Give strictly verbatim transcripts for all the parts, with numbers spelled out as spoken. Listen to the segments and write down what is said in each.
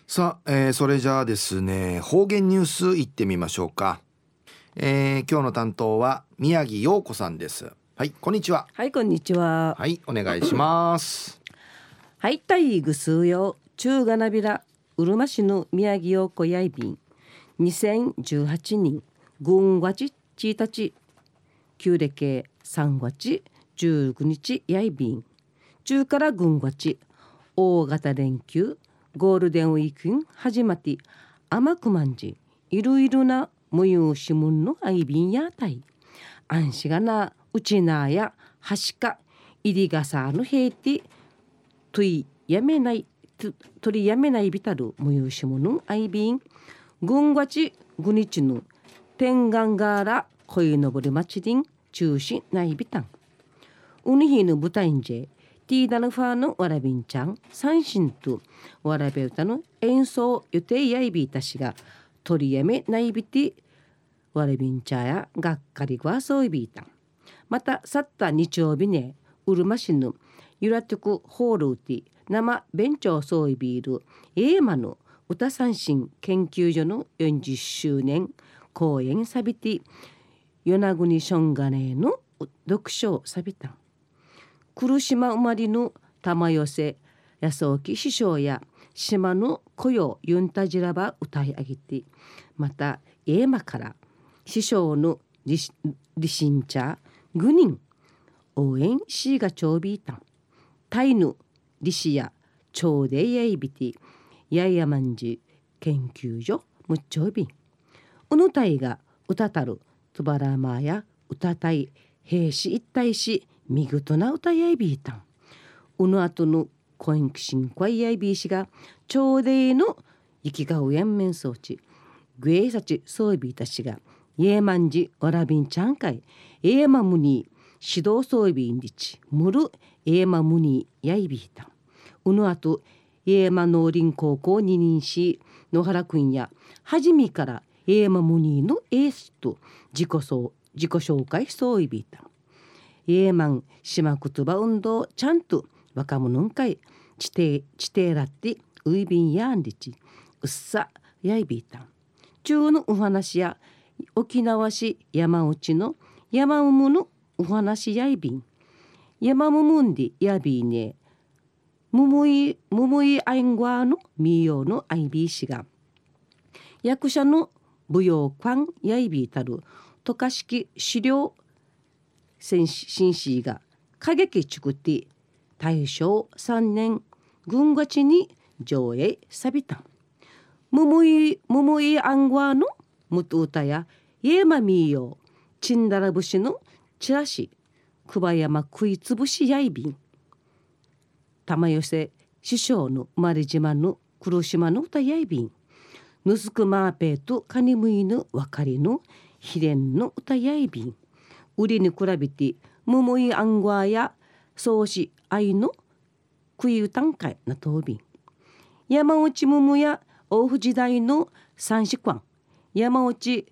さあ、えーそれじゃあですね、方言ニュースいってみましょうか。えー今日の担当は宮城陽子さんです。はい、こんにちは。 はい、こんにちは。 はい、お願いします。 はい、たいぐすうよ中がなびらうるま市の宮城陽子やいびんにせんじゅうはちねんぐんがちついたち旧暦さんがつじゅうくにちやいびん中からぐんがち大型連休ゴールデンウィーク始まって甘くまんじいろいろな無用しむんのあいびんやたいあんしがなうちなやはしかいりがさのへいてといやめないと取りやめないびたる無用しむのあいびんぐんがちぐにちの天眼がらこいのぼりまちりん中心ないびたんうにひの舞台んじティーダのファーのわらびんちゃん三振とわらべ歌の演奏予定やいびいたしが取りやめないびてわらびんちゃやがっかりはそういびいたんまた去った日曜日ねうるま市のゆらとくホールティ生弁長そういびいるエーマの歌三振研究所のよんじゅっしゅうねん公演さびて与那国ションガネの読書さびたん来島生まれの玉寄せ安沖師匠や島の雇用ユンタジラバ歌い上げてまたエーマから師匠のリシンチャーグニン応援しがちょうびいたんタイヌリシやちょうでやいびてやいやまんじ研究所むっちょうびんうぬたいが歌たるとばらまや歌たい兵士一体し見事な歌やいびいたんうぬあとのコインクシンコイやいびいしがちょうでいの生きがうやんめんそうちグエイサチそういびいたしがイエマンジわらびんちゃんかいエエマムニー指導そういびんりちむるエエマムニーやいびいたんうぬあとエエマ農林高校ににんし野原くんやはじめからエエマムニーのエースと自己そう自己紹介そういびいたんエーマン島言葉運動ちゃんと若者んかい地底地底らってウイビンやんりちうっさやいびいたん中のお話や沖縄市山内の山うむのお話やいびん山むむんでやびいねむむいむむいあいんごわのみよのあいびいしが役者の舞踊館やいびいたる渡嘉敷資料新市が歌劇ちくって大正さんねんぐんがちに上映さびたんむむいむむいあんごわのむとうたやイエマミーヨチンダラ節のチラシ久保山食いつぶしやいびん玉寄せ師匠の生まれ島の黒島の歌やいびんぬすくまーぺーとかにむいぬわかりのひれんの歌やいびん売りに比べてむむいあんごわやそうしあいの食いうたんかいなとうびん山内むむや大府時代の三子館山内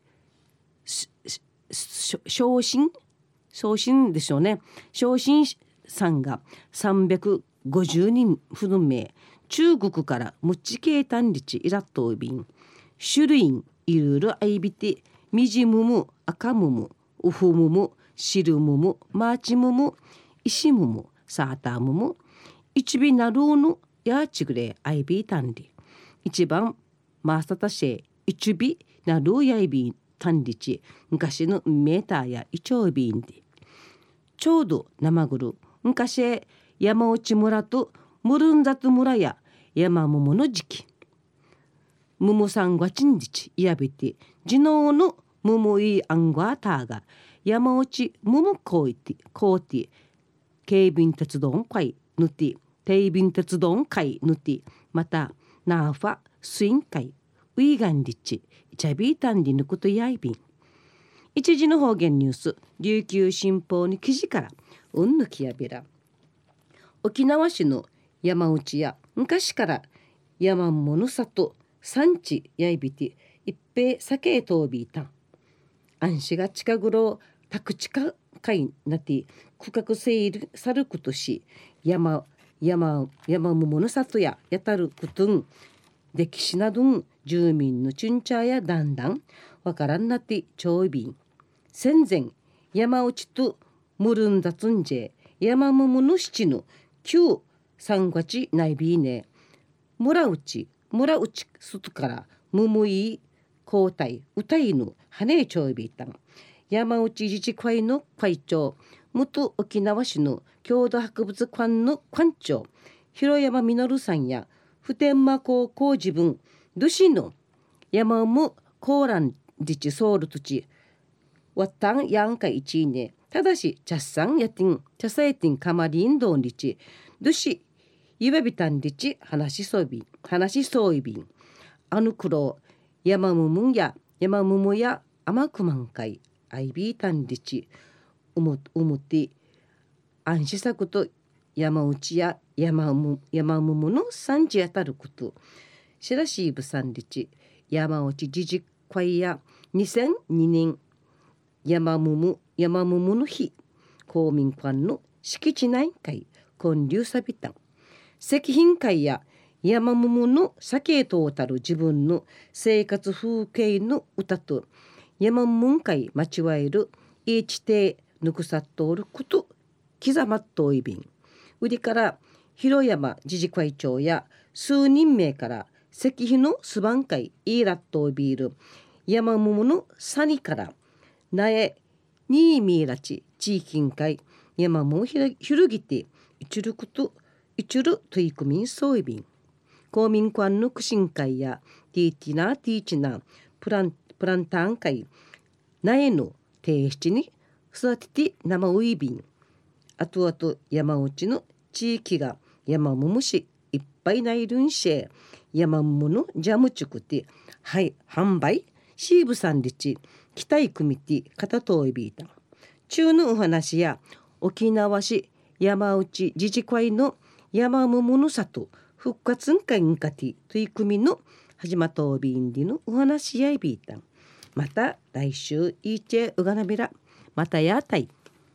昇進昇進でしょうね昇進さんがさんびゃくごじゅうにんふるめ中国からむちけいたんりちいらっとうびん種類いろいろあいびてみじむむ赤むむうふむむしるむむマーチむむ石むむサーターむむ一尾なるうぬやちぐれあいびいたんり一番マーサタシェ一尾なるうやいびたんりち昔のメーターやイチョウビンでちょうど生ぐる昔山内村とムルンザト村や山ももの時期ムムさんがちんじちいやびて地ののムムイアンゴアターが山内ムムコイティコーティ警備鉄道会ぬて定便鉄道会ぬてまたナーファスイン会ウイガンリッチチャビータンディヌクトヤイビン一時の方言ニュース琉球新報に記事からうんぬきやびら沖縄市の山内や昔から山物里産地やいびて一平酒へとびいたん安市が近頃宅地化会なって区画整理さることし山山山物里ややたることん歴史など住民のチュンチャーやだんだんわからんなってちょいびん戦前山内とムルンダツンジェ山ムムの七の旧三月内ビーネ村内村内外からムムイ交代歌いぬ羽ちょいびいたん山内自治会の会長元沖縄市の郷土博物館の館長広山実さんや普天間高校自分ドシの山ムコーラン自治ソウル土地ワッタンヤンカイチーネただしチャッサンヤティンチャサイティンカマリンドンリチドシユベビタンリチ話しそうびん話しそういびんあの黒山ムムンや山ムムやアマクマンカイアイビータンリチうむうむて安心作と山内や山む山むむの産地当たることしらしいぶさんリチ山内自治会やにせんにねん山むむ山むむの日公民館の敷地内会建立さびたん石品会や山むむの酒とたる自分の生活風景の歌と山むむ会待ちわえるいちてぬくさっとおること刻まっといびん売りから広山自治会長や数人名から石碑のすばん会イーラットービール山むむのサニからなえにーみーらち地域会山むひるぎていちることいちる取り組みそういびん公民館の苦心会やティーティナティーチナプランプランタン会なえの提出に育てて生ウイビンあとあと山内の地域が山もむしいっぱいないるんしえ山ものジャムチュクティはい販売シーブさんリチ期待組ティ片といびいた中のお話や沖縄市山内自治会の山もむの里復活んかんかティ取り組みの始まとびんりのお話やいびいたまた来週いいちえうがなびらまたやたい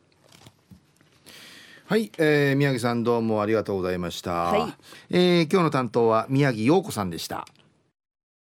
はい、えー、宮城さんどうもありがとうございました、 はいえー、今日の担当は宮城陽子さんでした。